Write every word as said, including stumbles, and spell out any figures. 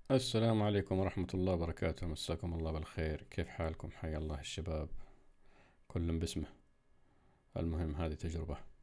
السلام عليكم ورحمة الله وبركاته، مساكم الله بالخير. كيف حالكم؟ حيا الله الشباب، كل باسمه. المهم هذه تجربة.